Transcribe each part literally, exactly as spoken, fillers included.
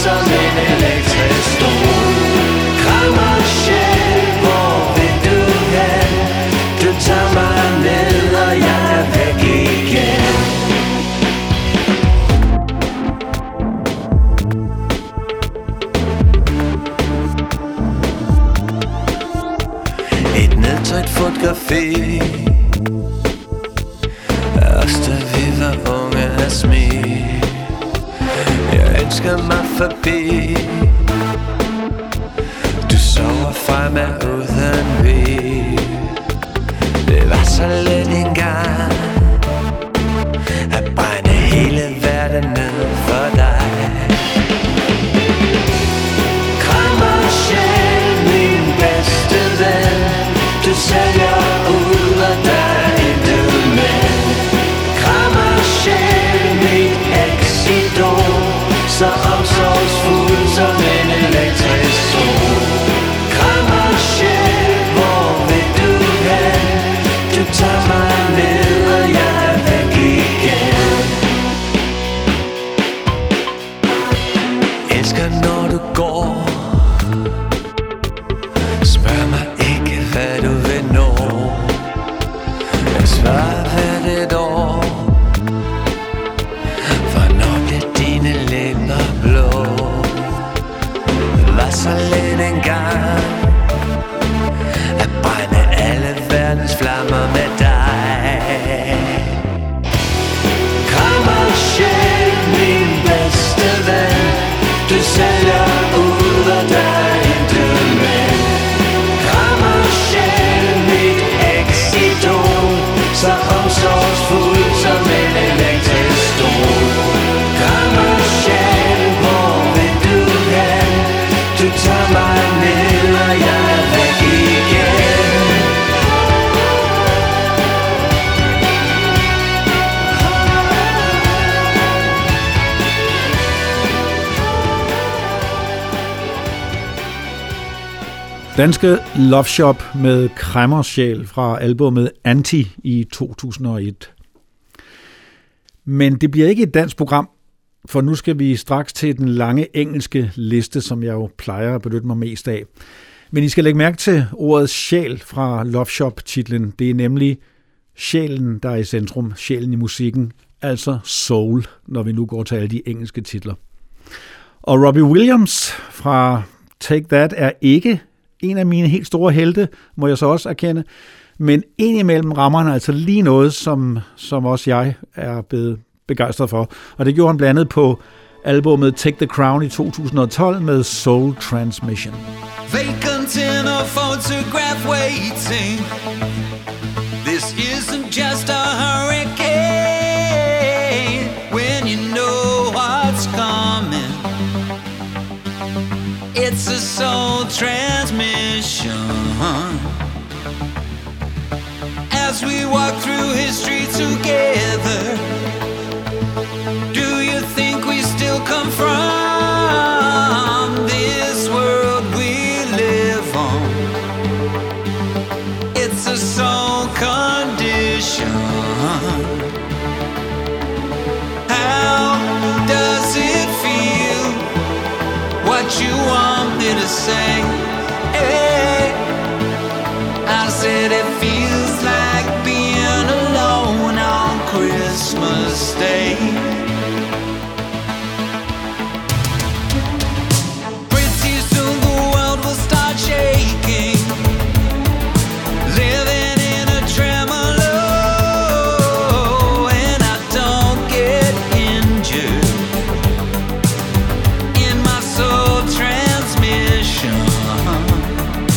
som en elektrisk stol. Krammer sjæl, hvor vil du hen? Du tager mig ned, og jeg er væk igen. Et nedtrykt fotografi af os, da vi var unge af smil. Jeg ønsker mig forbi. Du sover fra mig uden hvil. Det var så let engang at brænde hele verden ned for dig. Krammer sjæl, min bedste ven. Du sælger ud, og der er intet men. Krammer sjæl, mit eksidol, så omsorgsfuld som en elektrisk sol. Krammer sjæl, hvor vil du hen? Du tager mig ned, og jeg er væk igen. Elsker når du går. Spørg mig ikke hvad du vil nå. Jeg svarer hvert et år. Hvornår bliver dine læber blå? Det var så let engang at brænde alle verdens flammer med dig. Krammer sjæl, min bedste ven. Du sælger ud, og der er intet men. Krammer sjæl, mit eksidol, så omsorgsfuld som en elektrisk stol. Krammer sjæl, hvor vil du hen? Du tager mig ned, og jeg er væk igen. Danske Love Shop med Kræmmersjæl fra albumet Anti i to tusind og et. Men det bliver ikke et dansk program, for nu skal vi straks til den lange engelske liste, som jeg jo plejer at benytte mig mest af. Men I skal lægge mærke til ordet sjæl fra Love Shop-titlen. Det er nemlig sjælen, der er i centrum, sjælen i musikken, altså soul, når vi nu går til alle de engelske titler. Og Robbie Williams fra Take That er ikke en af mine helt store helte, må jeg så også erkende. Men indimellem rammer han altså lige noget, som, som også jeg er blevet begejstret for. Og det gjorde han blandt andet på albumet Take the Crown i to tusind og tolv med Soul Transmission. Vacant in a photograph waiting. This isn't just a hurricane. When you know what's coming, it's a soul transmission. As we walk through history together, do you think we still come from this world we live on? It's a soul condition. How does it feel? What you want me to say? Hey, I said it feels like being alone on Christmas Day. Pretty soon the world will start shaking, living in a tremolo, and I don't get injured in my soul transmission.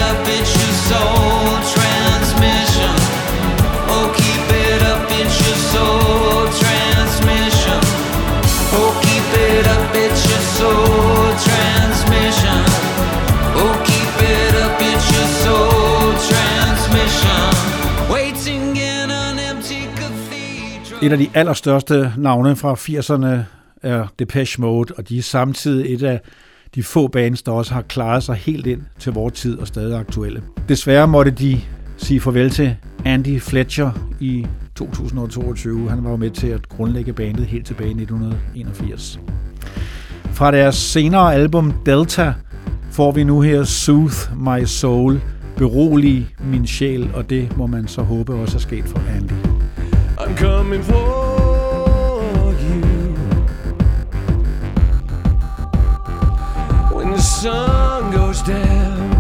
up, it's your soul transmission. Oh, keep it up, it's your soul transmission. Oh, keep it up, it's your soul transmission. Oh, keep it up, it's your soul transmission. Waiting in an empty cathedral. Et af de allerstørste navne fra firserne er Depeche Mode, og de er samtidig et af de få bands, der også har klaret sig helt ind til vores tid og stadig aktuelle. Desværre måtte de sige farvel til Andy Fletcher i to tusind og toogtyve. Han var jo med til at grundlægge bandet helt tilbage i nitten enogfirs. Fra deres senere album Delta får vi nu her Soothe My Soul, berolig min sjæl, og det må man så håbe også er sket for Andy. I'm coming for you when the sun goes down.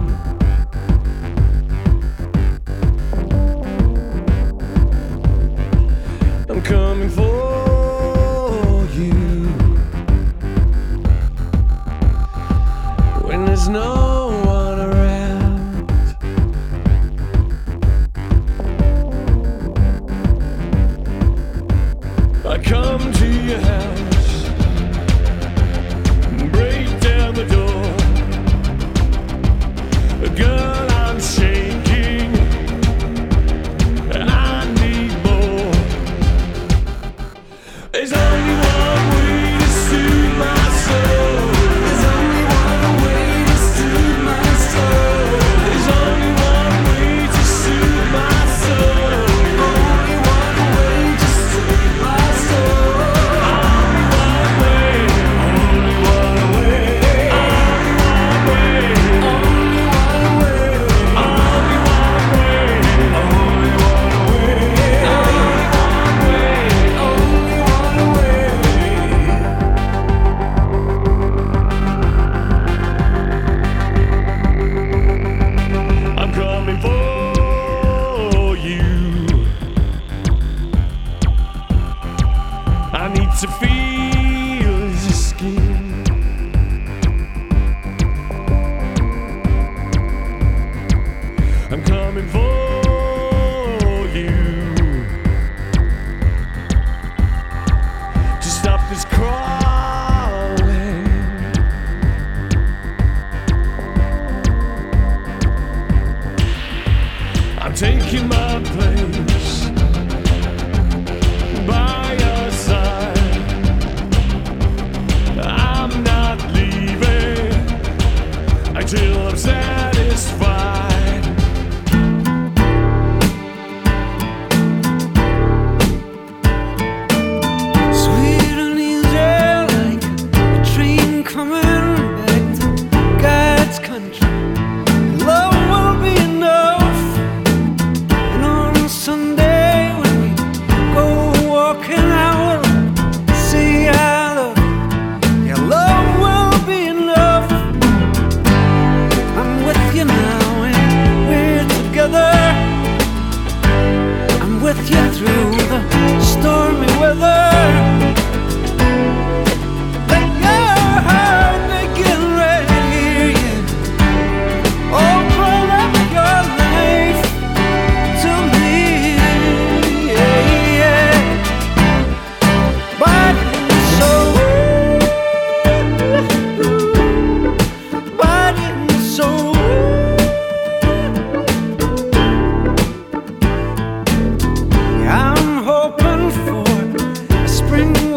I'm coming for you when there's no one around. I come to your house, break down the door. Girl, I'm shaking, I need more. There's only one way to soothe my soul. There's only one way to soothe my soul. There's only one way to soothe my soul. Only one way to soothe my soul. Only one way. Only one way. Only one way. Only one way. Only one way. Only one way. Only one way. I'm coming for you. I need to feel your skin. I'm coming for you to stop this crawling. I'm taking my place by your side. I'm not leaving until I'm satisfied. Sweet and easy like a train coming back to God's country. Love will be enough. And on Sunday when we go walking out, say I love you. Your love will be enough. I'm with you now and we're together. I'm with you through the stormy weather. Let your heart begin right here, yeah. Open up your life to me, yeah, yeah. Body and soul, body and soul. I'm hoping for a spring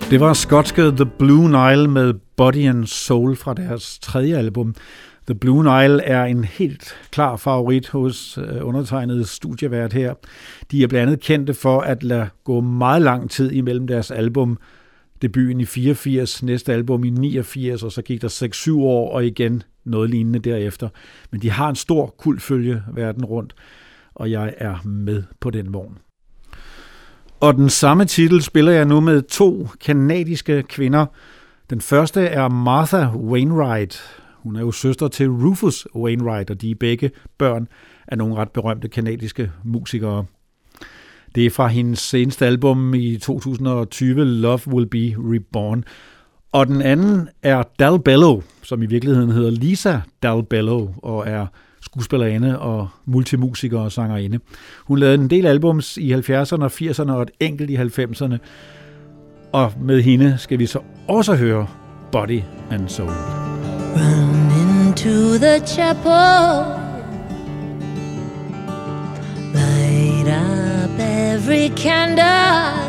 Det var skotske The Blue Nile med Body and Soul fra deres tredje album. The Blue Nile er en helt klar favorit hos undertegnede studievært her. De er blandt andet kendte for at lade gå meget lang tid imellem deres album. Debuten i fireogfirs, næste album i niogfirs, og så gik der seks syv år, og igen noget lignende derefter. Men de har en stor kultfølge verden rundt, og jeg er med på den vogn. Og den samme titel spiller jeg nu med to kanadiske kvinder. Den første er Martha Wainwright. Hun er jo søster til Rufus Wainwright, og de er begge børn af nogle ret berømte kanadiske musikere. Det er fra hendes seneste album i to tusind og tyve, Love Will Be Reborn. Og den anden er Dal Bello, som i virkeligheden hedder Lisa Dal Bello, og er skuespillerinde og multimusiker og sangerinde. Hun lavede en del albums i halvfjerdserne og firserne og et enkelt i halvfemserne. Og med hende skal vi så også høre Body and Soul. Run into the chapel, light up every candle.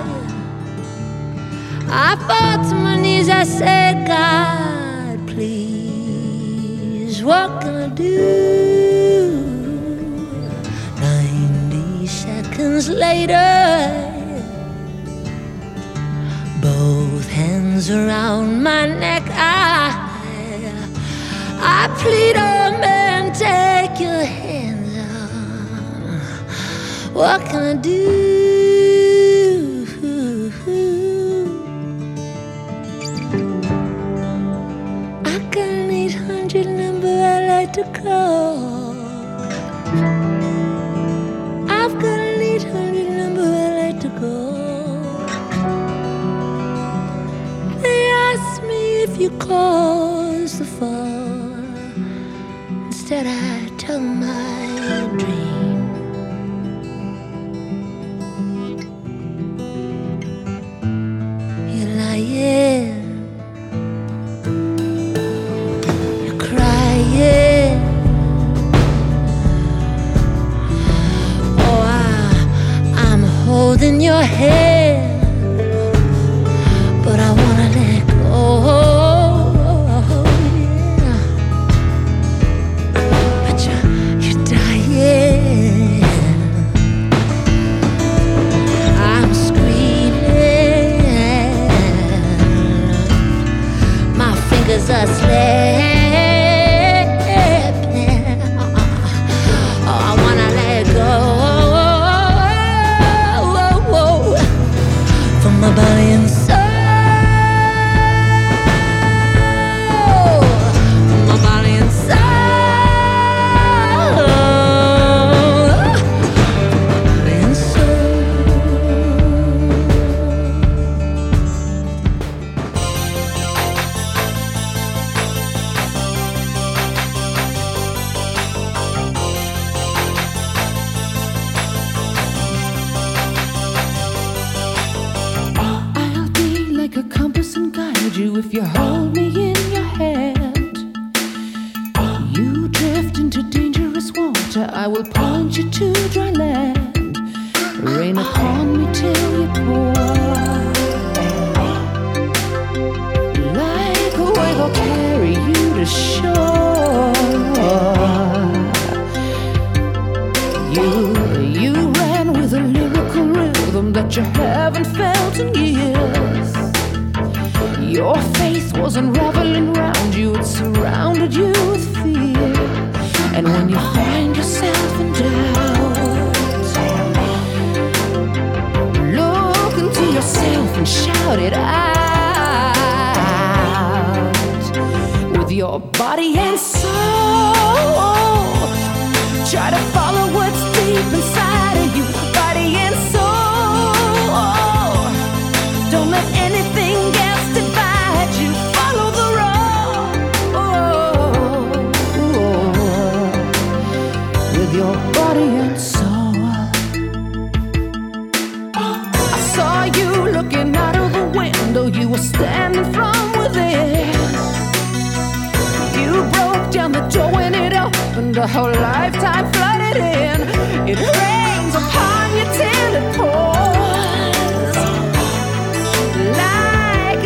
I fought to my knees, I said, God, please, what can I do? Ninety seconds later, both hands around my neck, I I plead, oh man, take your hands on. What can I do? I got an eight hundred number I like to call. I've got an eight hundred number I like to call. They ask me if you cause the fall. Instead I tell my dream. You're lying, you're crying. Oh, I, I'm holding your hand, but I wanna let go. A slip now. Oh, I wanna let go from my body and soul. From my body and soul. Body and soul. If you hold me in your hand, you drift into dangerous water, I will point you to dry land. Rain upon me till you pour. Like a wave I'll carry you to shore. You, you ran with a lyrical rhythm that you haven't felt in years. Your faith was unraveling round you, it surrounded you with fear. And when you find yourself in doubt, look into yourself and shout it out. With your body and soul, try to follow what's deep inside of you. Body and soul, don't let anything else divide you. Follow the road, oh, with your body and soul. I saw you looking out of the window. You were standing from within. You broke down the door when it opened. A whole lifetime flooded in. It rains upon you till it pours. Like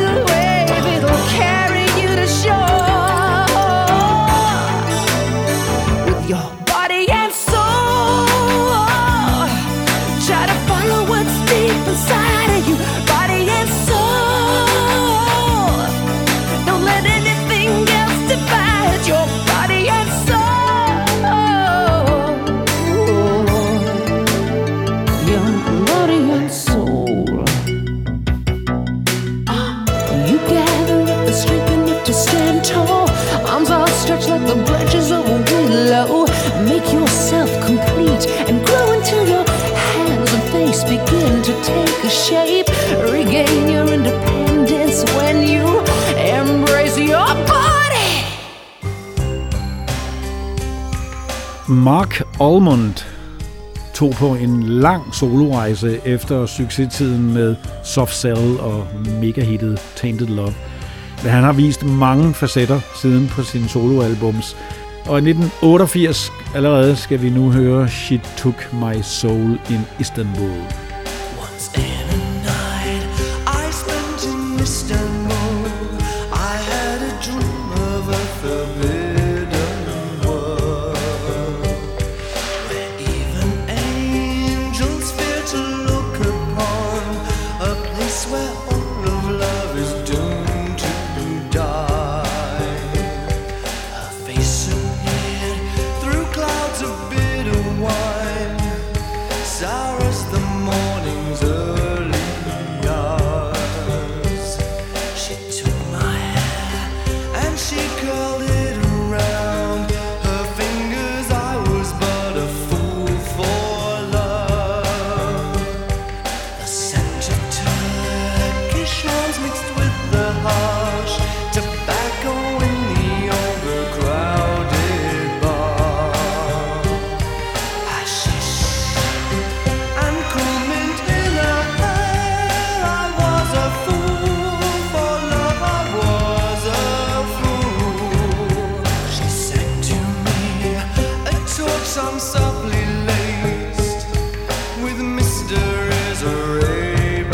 Mark Almond tog på en lang solorejse efter succestiden med Soft Cell og megahittet Tainted Love. Men han har vist mange facetter siden på sine soloalbums. Og i nitten otteogfirs allerede skal vi nu høre She Took My Soul in Istanbul. Once in a night I spent in Istanbul, I had a dream of a forbidden world, where even angels fear to look upon, a place where all of love is doomed to die. Her face appeared through clouds of bitter wine, sour as the morning's early hours. She took my hair and she curled it around her fingers. I was but a fool for love. The scent of Turkish arms mixed with the harsh tobacco in the overcrowded bar. Hashish and cool mint in her hair. I was a fool for love, I was a fool. She sang to me a torch song softly laced with mysteries Arabian.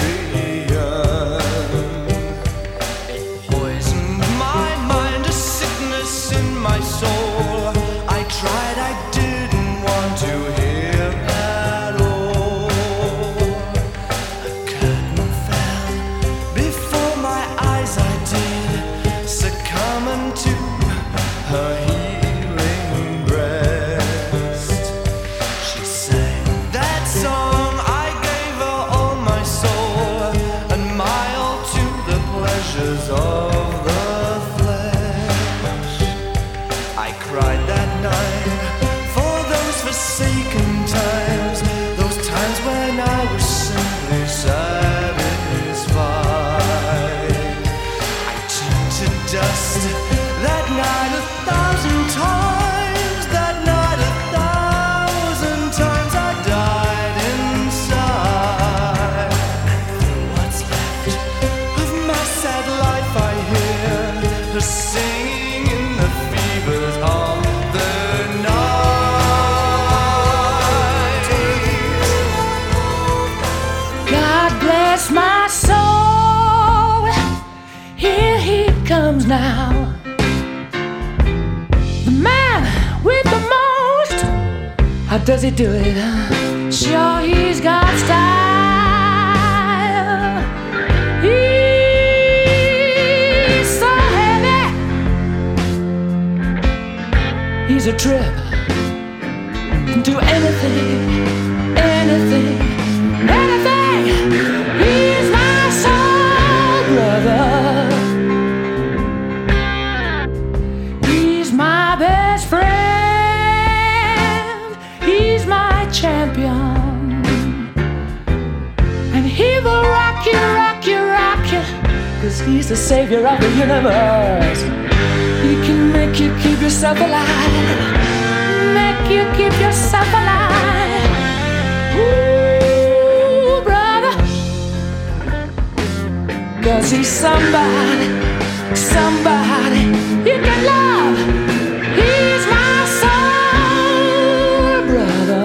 It poisoned my mind, a sickness in my soul. I tried, I didn't want to hear at all. A curtain fell before my eyes, I did succumb unto her healing breast. She sang that song, I gave her all my soul, and my all to the pleasures of the flesh. I cried that night for those forsaken times, those times when I was simply satisfied. I turned to dust that night a thousand times, that night a thousand times I died inside. And through what's left of my sad life I hear her singing in the fevers of the night. God bless my soul. Here he comes now. The man with the most. How does he do it? Sure, he's got style. He's so heavy. He's a trip. Can do anything, anything, anything. He's my soul brother. He's my best friend. He's my champion. And he will rock you, rock you, rock you. Cause he's the savior of the universe. He can make you keep yourself alive. Make you keep yourself alive. Ooh, brother. Cause he's somebody, somebody you can love. He's my soul brother.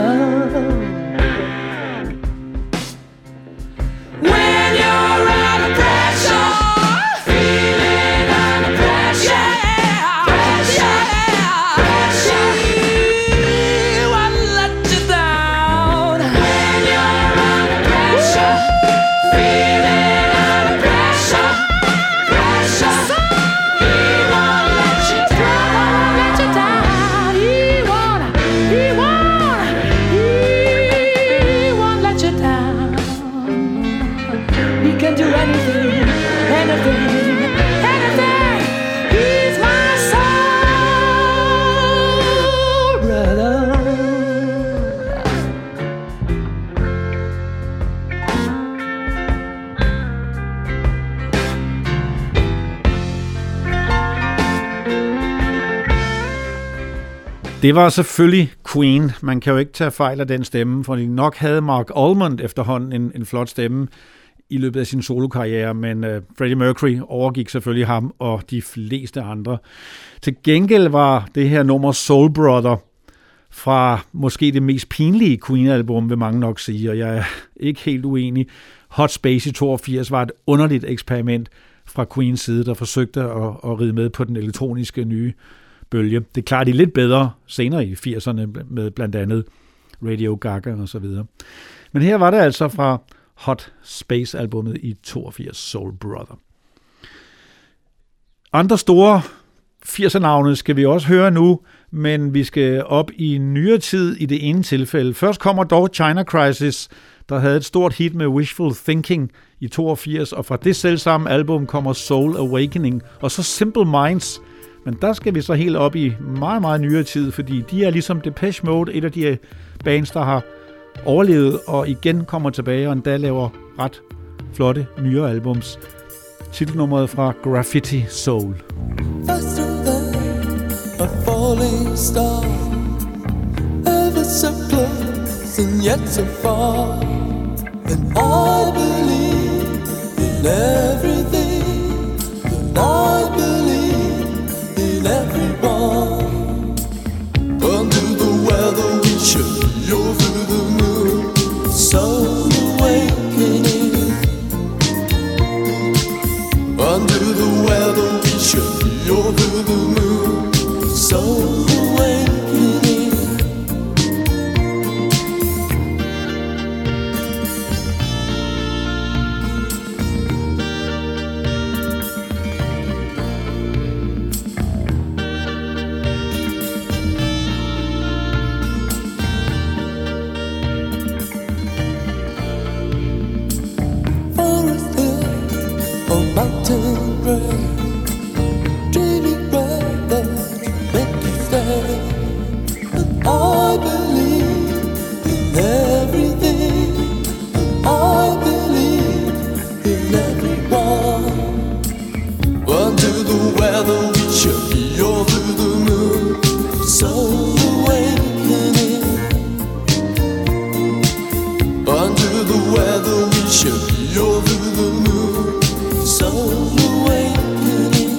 When you're under pressure, feeling under pressure, pressure, pressure, he won't let you down. When you're under pressure, feeling under pressure, pressure, he won't let you down, let you down. He won't, he won't, he won't let you down. He can do anything, anything, anything. He's my soul brother. Det var selvfølgelig Queen. Man kan jo ikke tage fejl af den stemme, for nok havde Mark Almond efterhånden en, en flot stemme i løbet af sin solokarriere, men uh, Freddie Mercury overgik selvfølgelig ham og de fleste andre. Til gengæld var det her nummer Soul Brother fra måske det mest pinlige Queen-album, vil mange nok sige, og jeg er ikke helt uenig. Hot Space i toogfirs var et underligt eksperiment fra Queens side, der forsøgte at, at ride med på den elektroniske nye bølge. Det klarede de lidt bedre senere i firserne med blandt andet Radio Gaga og så videre. Men her var det altså fra Hot Space-albummet i toogfirs, Soul Brother. Andre store firser-navne skal vi også høre nu, men vi skal op i nyere tid i det ene tilfælde. Først kommer dog China Crisis, der havde et stort hit med Wishful Thinking i toogfirs, og fra det selvsamme album kommer Soul Awakening, og så Simple Minds. Men der skal vi så helt op i meget, meget nyere tid, fordi de er ligesom Depeche Mode, et af de bands, der har overlevet og igen kommer tilbage og endda laver ret flotte nyere albums. Titelnummeret fra Graffiti Soul. Faster than a falling star, ever so close and yet so far, and I believe in everything, and I believe in everyone. Under the weather we should be over the moon, soul awakening. Under the weather we should be over the moon, soul awakening. Forest hill or mountain gray, dreaming weather to make you stay. And I believe in everything, and I believe in everyone. Under the weather we should be over the moon, soul awakening. Under the weather we should be over the moon, soul awakening.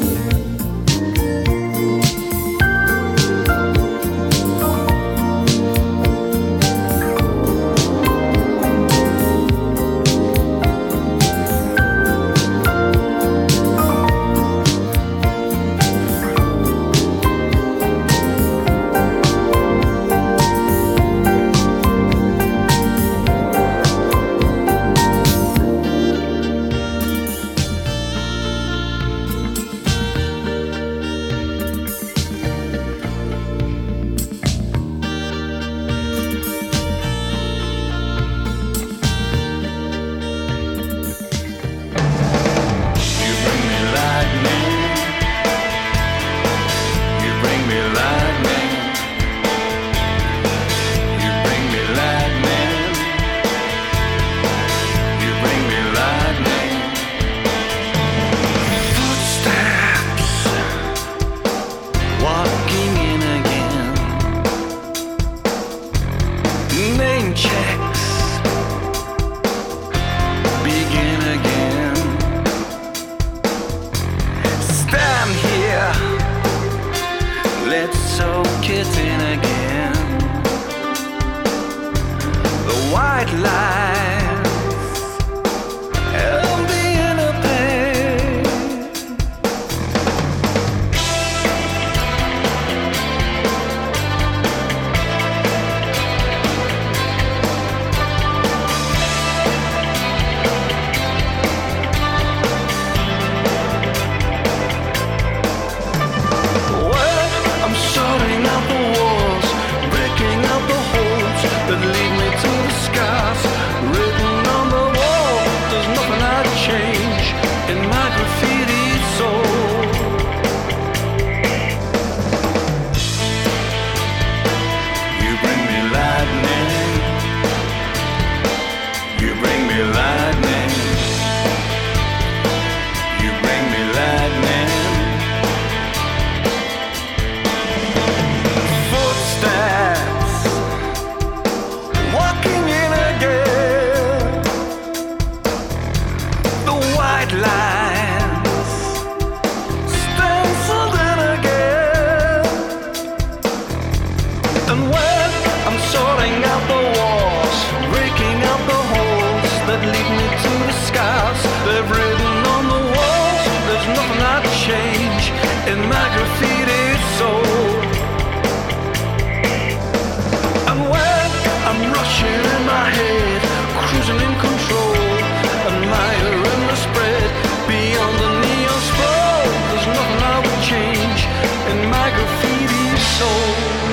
white lines stenciled in again. And when I'm sorting out the walls, breaking out the holes that lead me to the skies, they've written on the walls, there's nothing I'd change in my graffiti soul. And when I'm rushing in my head, cruising in control, admiring the spread beyond the neon sprawl, there's nothing I would change in my graffiti soul.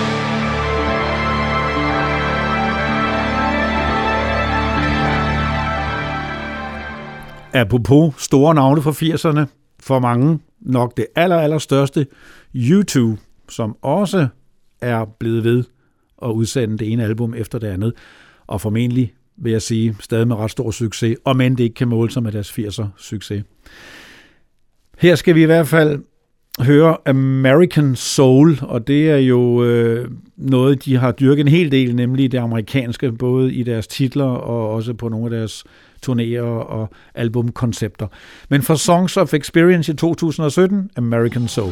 Apropos store navne fra firserne, for mange nok det aller, aller største, U to, som også er blevet ved at udsende det ene album efter det andet, og formentlig, vil jeg sige, stadig med ret stor succes, og men det ikke kan måle sig med deres firser succes. Her skal vi i hvert fald høre American Soul, og det er jo øh, noget, de har dyrket en hel del, nemlig det amerikanske, både i deres titler og også på nogle af deres turnéer og albumkoncepter. Men for Songs of Experience i to tusind og sytten, American Soul.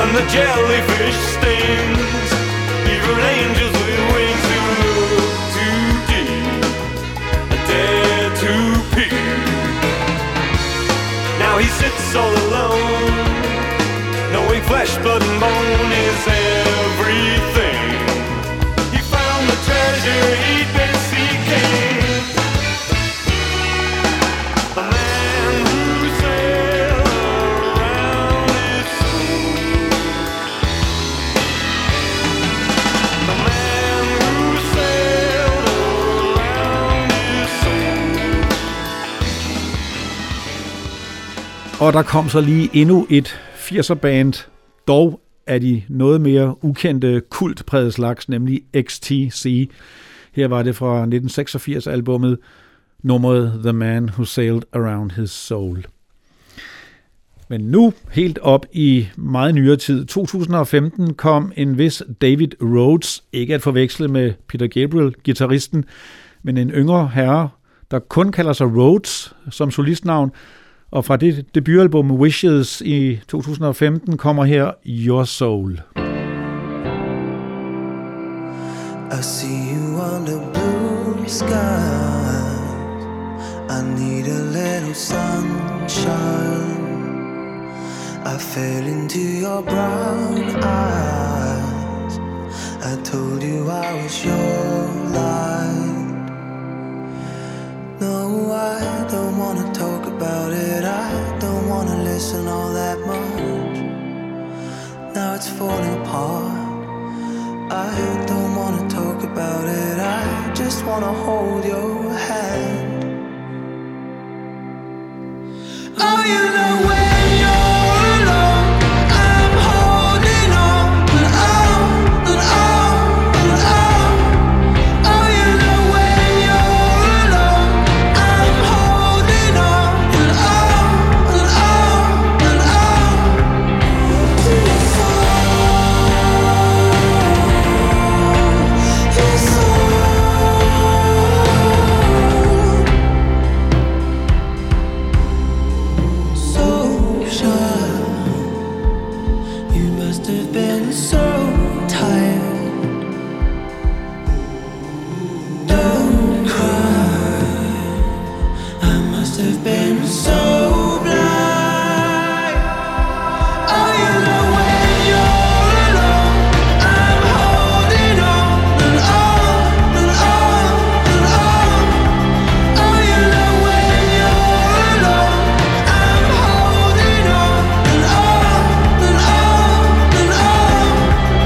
and the jellyfish stings, even angels with wings who look too deep dare to peer. Now he sits all alone, knowing flesh, blood and bone is everything. He found the treasure he'd been seeking. The man who sailed around his soul. The man who sailed around his soul. Og der kom så lige endnu et firser-band, dog er de noget mere ukendte kultpræget slags, nemlig X T C. Her var det fra nitten seksogfirs albummet, nummeret The Man Who Sailed Around His Soul. Men nu, helt op i meget nyere tid, to tusind og femten, kom en vis David Rhodes, ikke at forveksle med Peter Gabriel, guitaristen, men en yngre herre, der kun kalder sig Rhodes som solistnavn. Og fra det debutalbum Wishes i to tusind og femten kommer her Your Soul. I see you under blue skies. I need a little sunshine. I fell into your brown eyes. I told you I was your light. No, I don't wanna talk about it. I don't wanna listen all that much. Now it's falling apart. I don't wanna talk about it. I just wanna hold your hand. Oh, you know when you're alone, I'm holding on and on and on and on. Oh, you know when you're alone, I'm holding on and on and on and on to your soul, your soul. So shy, you must have been so tired. Don't cry, I must have been so blind. Oh, you know when you're alone, I'm holding on and on and on and on. Oh, you know when you're alone, I'm holding on and on and on and on.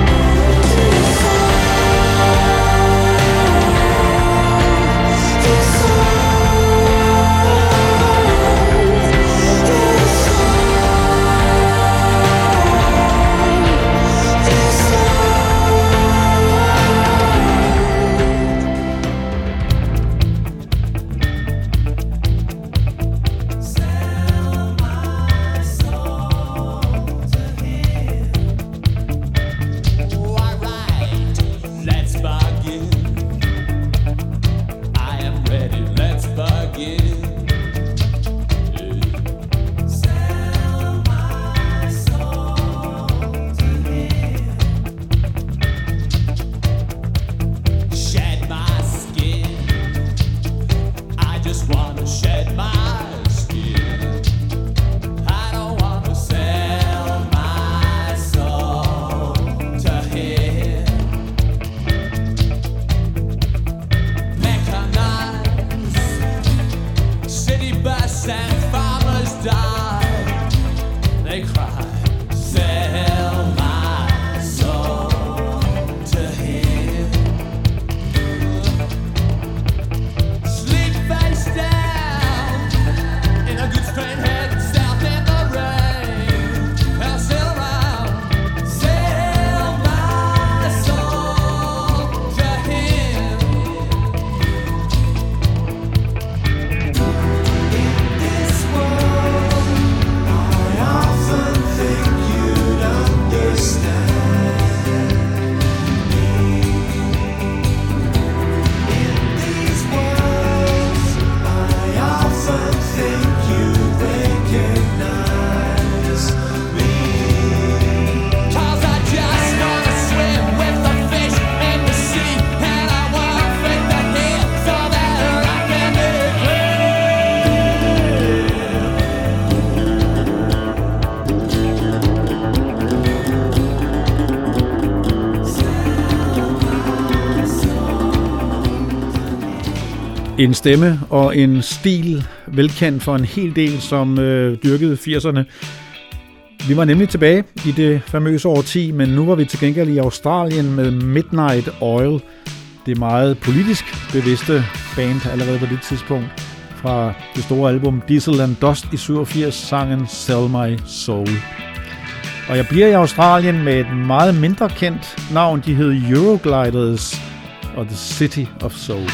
En stemme og en stil, velkendt for en hel del, som øh, dyrkede firserne. Vi var nemlig tilbage i det famøse årti, men nu var vi til gengæld i Australien med Midnight Oil. Det meget politisk bevidste band allerede på det tidspunkt. Fra det store album Diesel and Dust i syvogfirs, sangen Sell My Soul. Og jeg bliver i Australien med et meget mindre kendt navn. De hed Eurogliders og The City of Soul.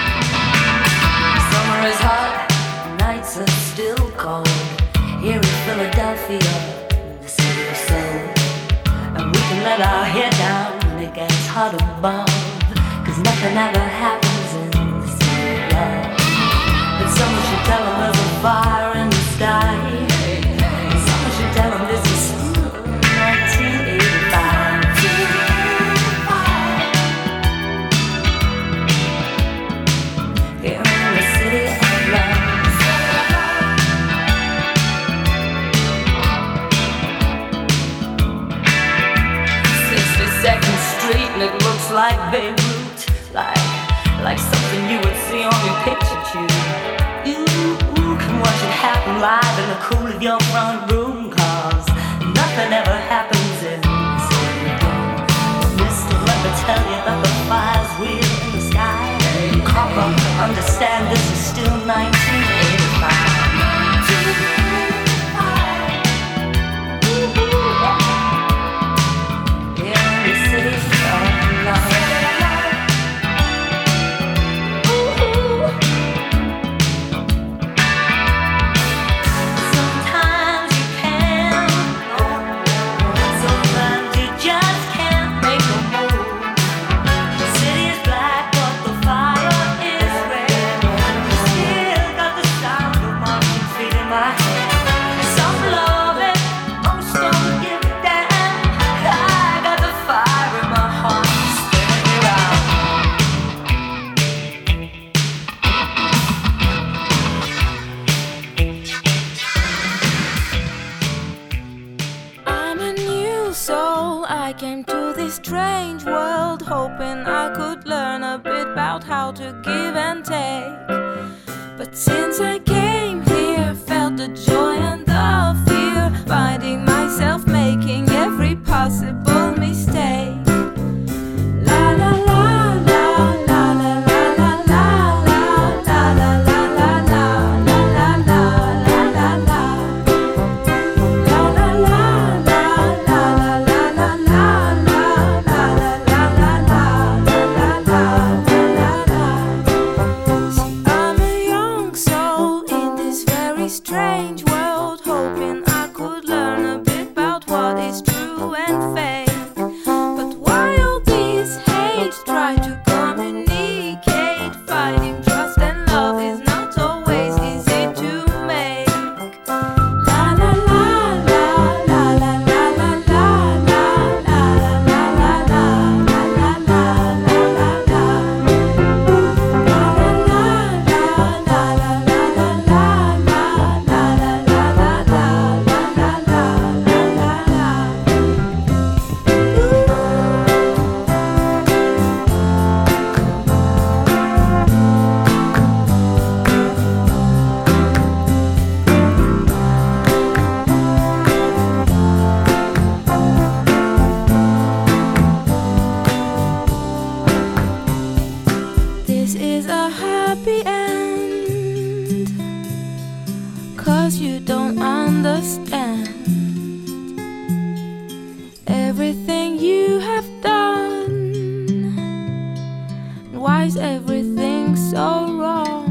Summer is hot, nights are still cold. Here in Philadelphia, the city of soul. And we can let our hair down when it gets hot above, 'cause nothing ever happens in the city of love. But someone should tell them there's a fire in the sky. Someone should tell them this is nineteen eighty-five. Here in the city of love. sixty-second Street and it looks like Beirut, like like something you would see on your picture tube. You can watch it happen live in the cool of your front room, 'cause nothing ever happens in the city of love. Mister, let me tell you that the fire's real in the sky. Copper, understand this is still nineteen eighty-five. Strange world, hoping I could learn a bit about how to give and take. But since I came here, felt the joy and the fear, finding myself making every possible mistake. La la la la la la la la la la la la la la la la la la la la. La la la la la la la la. Strange world, hoping I could learn a bit about what is true and fake. But why all these hates try to communicate? Finding trust and love is not always easy to make. La la la la la la la la la la la la la la la la la la. This is a happy end, 'cause you don't understand everything you have done. Why is everything so wrong?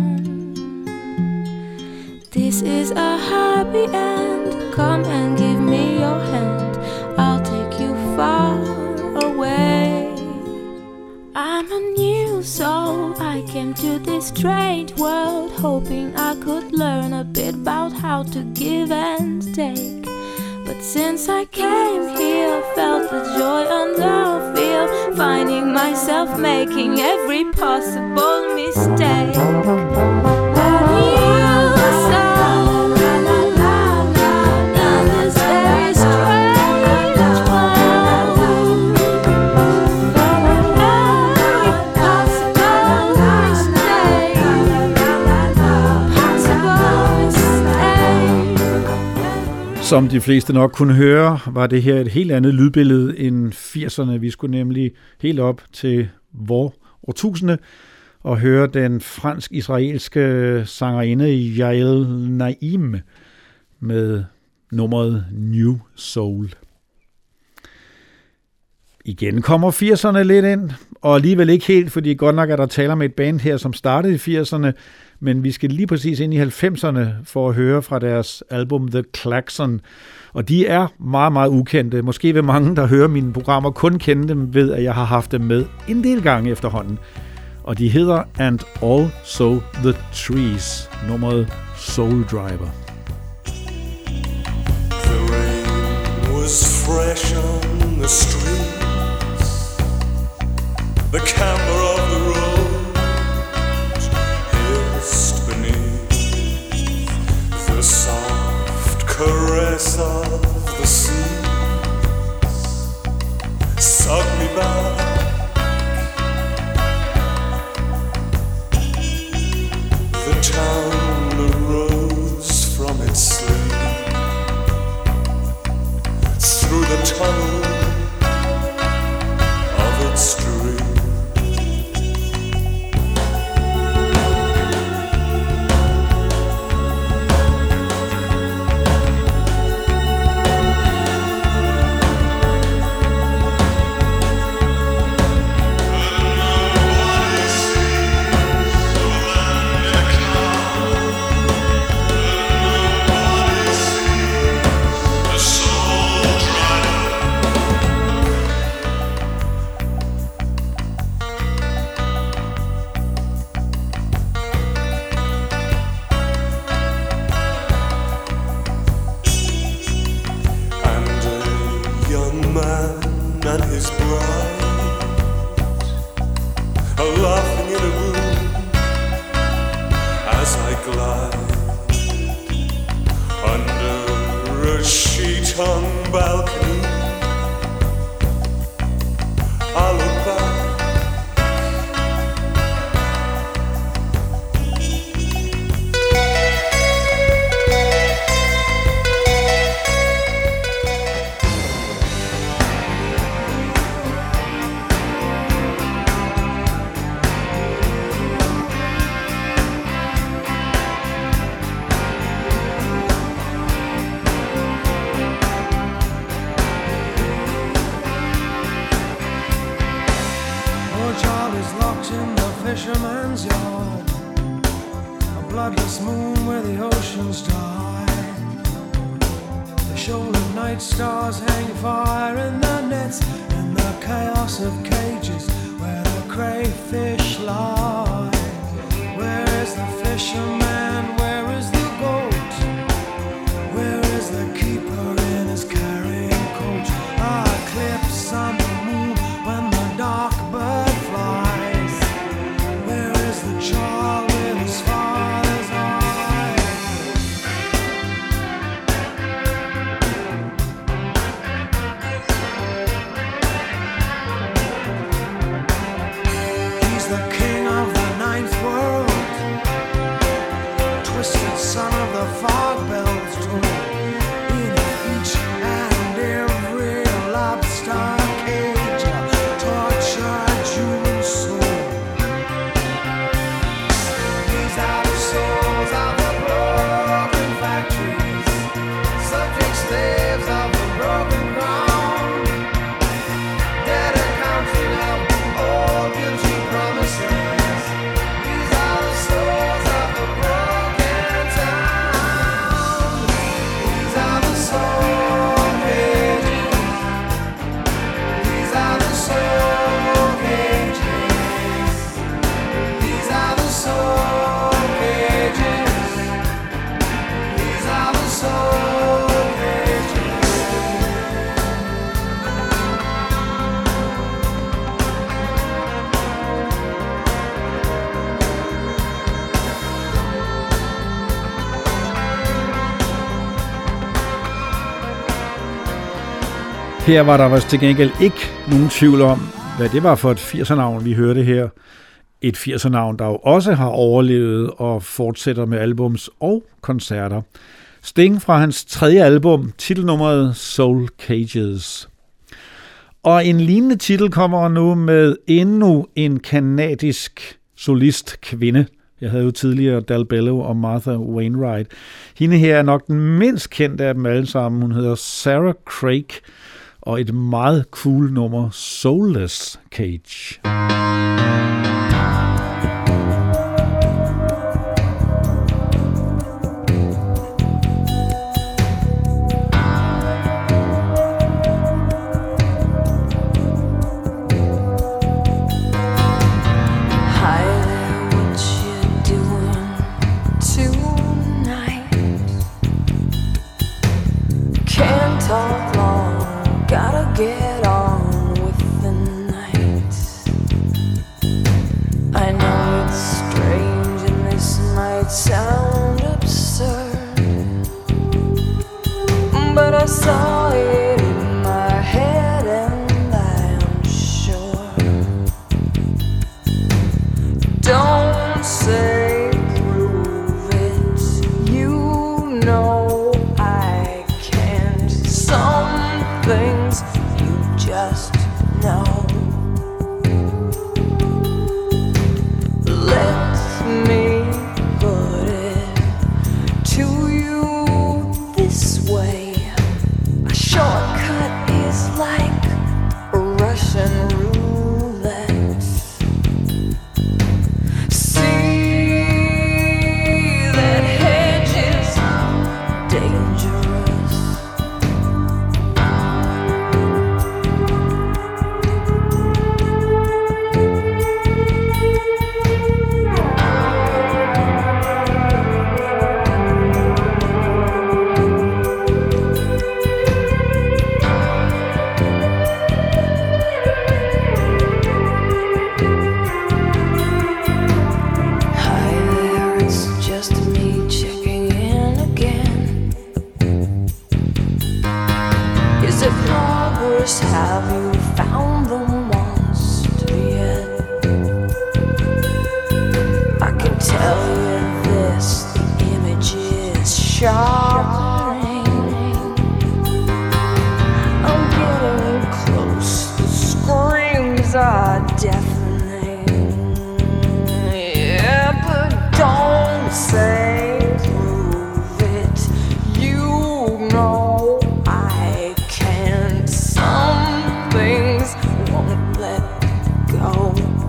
This is a happy end. Come and give me your hand, I'll take you far away. I'm a new soul, I came to this strange world, hoping I could learn a bit about how to give and take. But since I came here, felt the joy and the fear, finding myself making every possible mistake. A new soul, la la la la, in this very strange world. Every possible mistake. Som de fleste nok kunne høre, var det her et helt andet lydbillede end firserne. Vi skulle nemlig helt op til vor årtusinde og høre den fransk-israelske sangerinde Yael Naim med nummeret New Soul. Igen kommer firserne lidt ind, og alligevel ikke helt, fordi godt nok er der taler med et band her, som startede i firserne, men vi skal lige præcis ind i halvfemserne for at høre fra deres album The Klaxon. Og de er meget, meget ukendte. Måske vil mange, der hører mine programmer, kun kende dem ved, at jeg har haft dem med en del gange efterhånden. Og de hedder And Also The Trees, nummeret Soul Driver. The rain was fresh on the streets. The camber of the road hissed beneath the soft caress of the sea. Sucked me back. The town arose from its sleep through the tunnel of its dream. Her var der vist til gengæld ikke nogen tvivl om, hvad det var for et firsernavn, vi hørte her. Et firsernavn, der jo også har overlevet og fortsætter med albums og koncerter. Sting fra hans tredje album, titelnummeret Soul Cages. Og en lignende titel kommer nu med endnu en kanadisk solist kvinde. Jeg havde jo tidligere Del Bello og Martha Wainwright. Hende her er nok den mindst kendte af dem alle sammen. Hun hedder Sarah Craig, og et meget cool nummer, Soulless Cage. Talk long, gotta get on with the night. I know it's strange and this might sound absurd, but I saw it in my head and I'm sure. Don't say prove it, you know things you just know. Let me put it to you this way. A shortcut is like a Russian roulette. See that hedge is dangerous. Have you found the monster yet? I can tell you this, the image is sharp. I'm getting close, the screams are deafening. Yeah, but don't say prove it, you know I can't. Some things won't let go.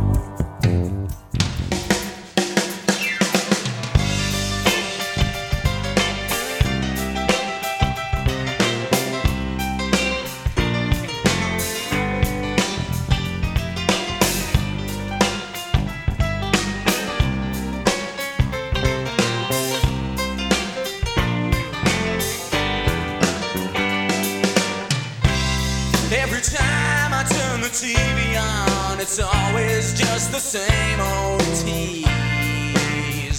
Every time I turn the T V on, it's always just the same old tease.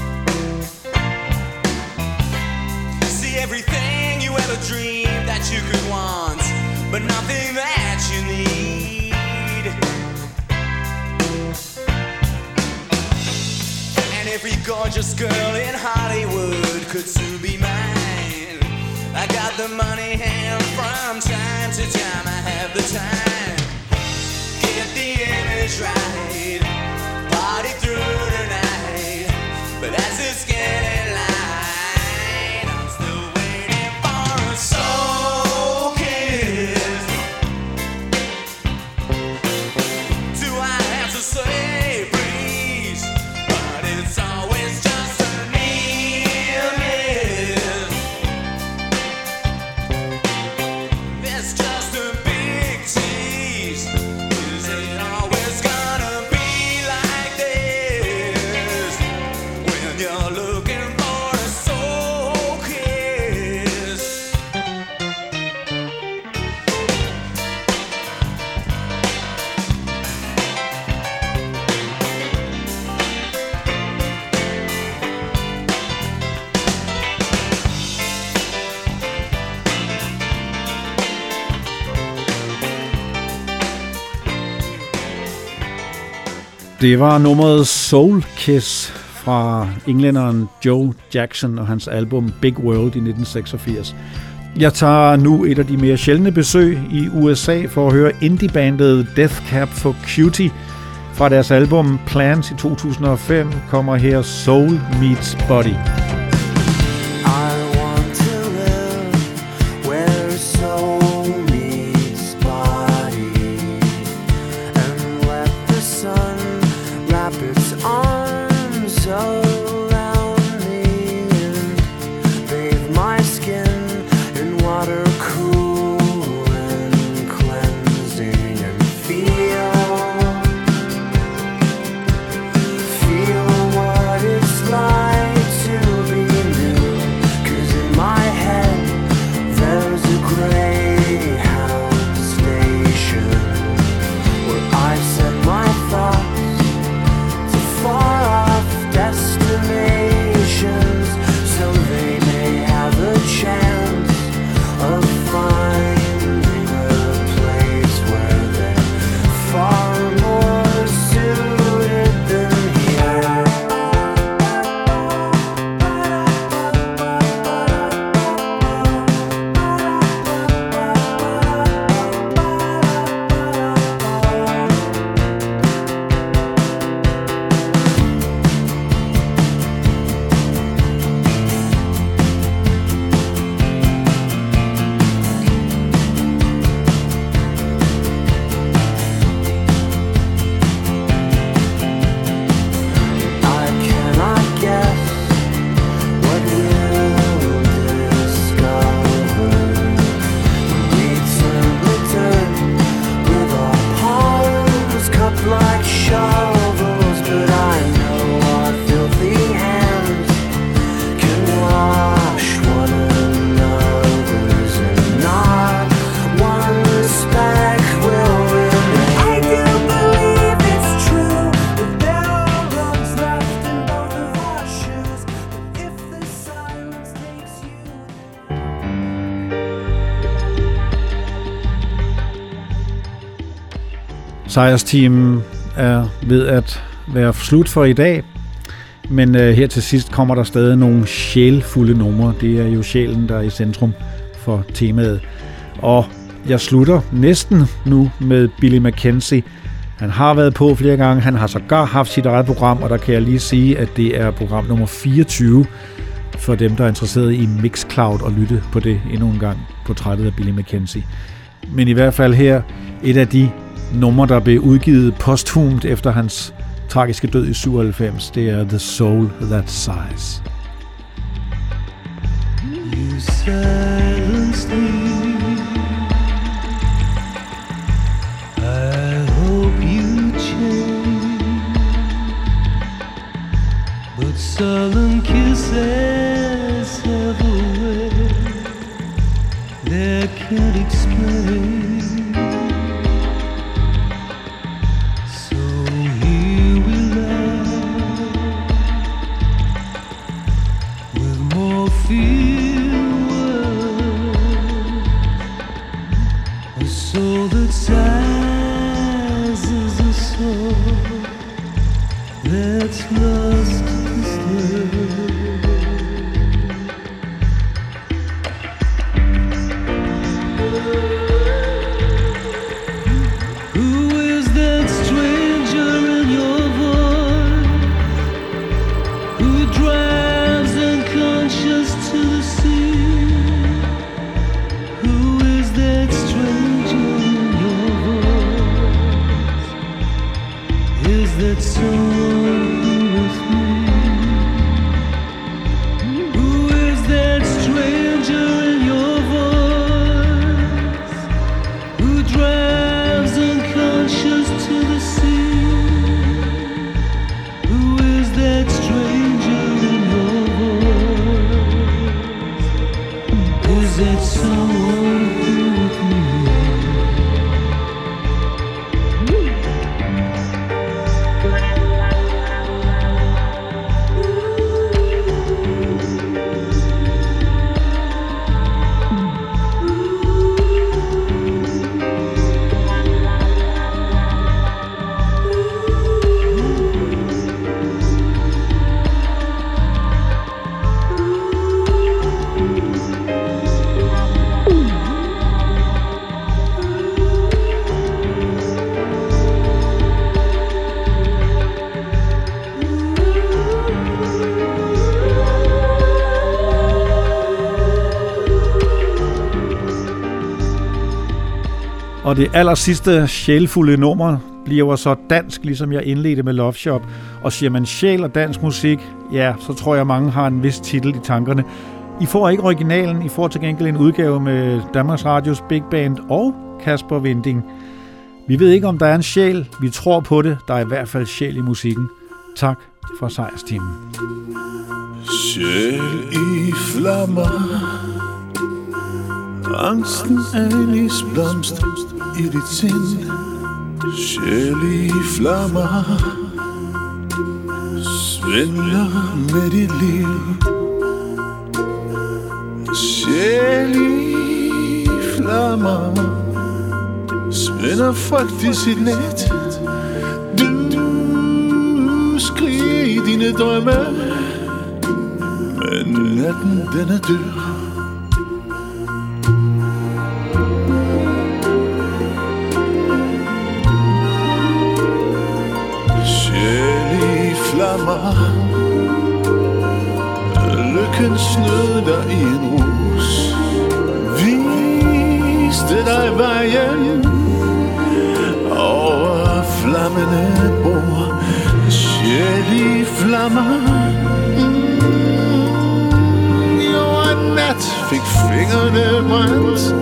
See everything you ever dreamed that you could want, but nothing that you need. And every gorgeous girl in Hollywood could soon be mine. I got the money hand from time to time. I have the time. Get the image right. Party through the night. But as it's getting light, I'm still waiting for a soul kiss. Do I have to say please? But it's always just a near miss. It's just a big tease. Is it always gonna be like this? When you're looking for a soul kiss. Det var nummeret Soul Kiss fra englænderen Joe Jackson og hans album Big World i nitten seksogfirs. Jeg tager nu et af de mere sjældne besøg i U S A for at høre indie-bandet Death Cab for Cutie. Fra deres album Plans i to tusind og fem kommer her Soul Meets Body. Sejrsteam er ved at være slut for i dag, men øh, her til sidst kommer der stadig nogle sjælfulde numre. Det er jo sjælen, der er i centrum for temaet. Og jeg slutter næsten nu med Billy Mackenzie. Han har været på flere gange, han har sågar haft sit eget program, og der kan jeg lige sige, at det er program nummer fireogtyve for dem, der er interesseret i Mixcloud og lytte på det endnu en gang, portrættet af Billy Mackenzie. Men i hvert fald her et af de numre, der blev udgivet posthumt efter hans tragiske død i syvoghalvfems, det er The Soul That Sighs. You silenced me. I hope you change, but sullen kisses have a way that can't explain. Og det aller sidste sjælfulde nummer bliver så dansk, ligesom jeg indledte med Love Shop. Og siger man sjæl og dansk musik, ja, så tror jeg mange har en vis titel i tankerne. I får ikke originalen, I får til gengæld en udgave med Danmarks Radios Big Band og Kasper Winding. Vi ved ikke, om der er en sjæl. Vi tror på det. Der er i hvert fald sjæl i musikken. Tak for sejrstimen. Sjæl i flammer, angsten er en isblomst i dit sind. Sjæl i flammer, svindler med dit liv. Sjæl i flammer, spænder frygt i sit net. Du skriger i dine drømme, men natten den er død. Sjæl i flammer, lykken snød dig i en rus, viste dig vejen over flammende bord. Sjæl i flammer, jo en nat fik fingrene brændt.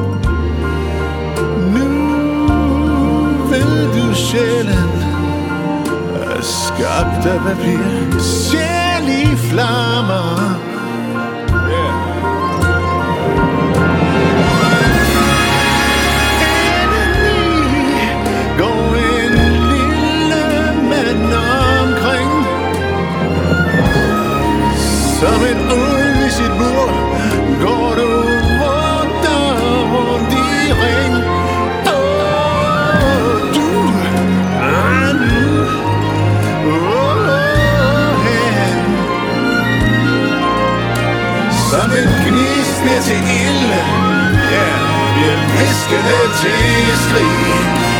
Nu ved du sjælen er skabt af papir. Sjæl i flammer. Som en ulv i sit bur går du rundt og rundt i ring. Åh, du er nu åh, hen. Som en gnist ned til ild, ja, bliver viskende til skrig.